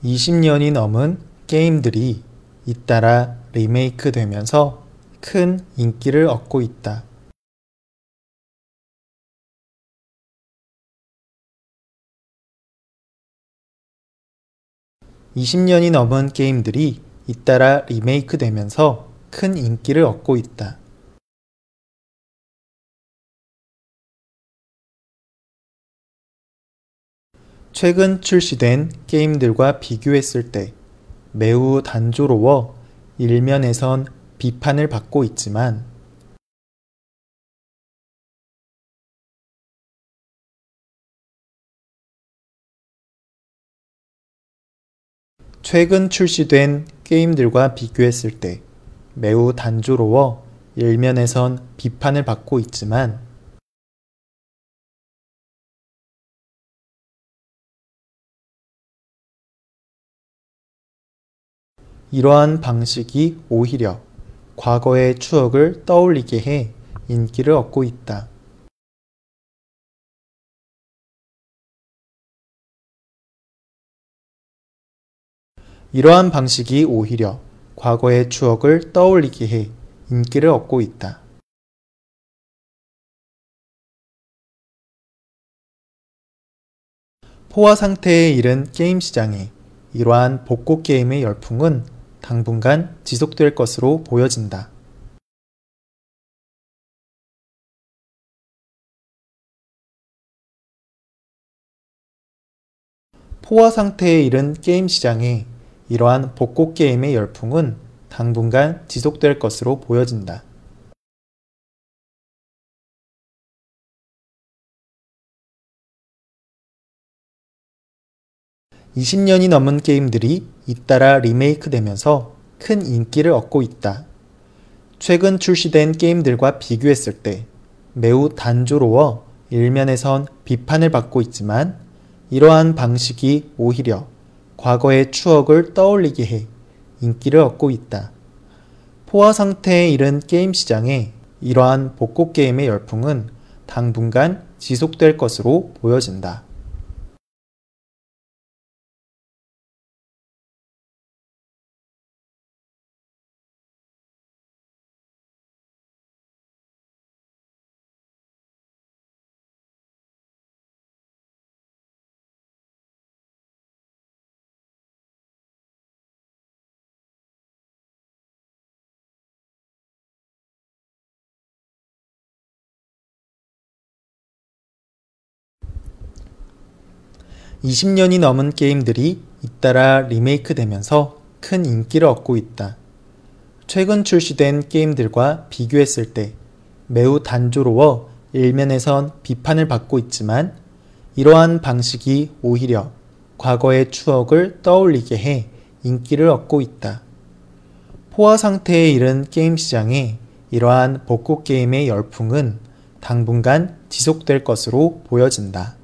20년이 넘은 게임들이 잇따라 리메이크 되면서 큰 인기를 얻고 있다. (20년이) 넘은 게임들이 잇따라 리메이크 되면서 큰 인기를 얻고 있다. 최근 출시된 게임들과 비교했을 때 매우 단조로워 일면에선 비판을 받고 있지만 최근 출시된 게임들과 비교했을 때 매우 단조로워 일면에선 비판을 받고 있지만 이러한 방식이 오히려 과거의 추억을 떠올리게 해 인기를 얻고 있다. 이러한 방식이 오히려 과거의 추억을 떠올리게 해 인기를 얻고 있다. 포화 상태에 이른 게임 시장에 이러한 복고 게임의 열풍은 당분간 지속될 것으로 보여진다. 포화 상태에 이른 게임 시장에 이러한 복고 게임의 열풍은 당분간 지속될 것으로 보여진다. (20년이) 넘은 게임들이 잇따라 리메이크 되면서 큰 인기를 얻고 있다. 최근 출시된 게임들과 비교했을 때 매우 단조로워 일면에선 비판을 받고 있지만 이러한 방식이 오히려 과거의 추억을 떠올리게 해 인기를 얻고 있다. 포화 상태에 이른 게임 시장에 이러한 복고 게임의 열풍은 당분간 지속될 것으로 보여진다. (20년이) 넘은 게임들이 잇따라 리메이크 되면서 큰 인기를 얻고 있다. 최근 출시된 게임들과 비교했을 때 매우 단조로워 일면에선 비판을 받고 있지만 이러한 방식이 오히려 과거의 추억을 떠올리게 해 인기를 얻고 있다. 포화 상태에 이른 게임 시장에 이러한 복고 게임의 열풍은 당분간 지속될 것으로 보여진다.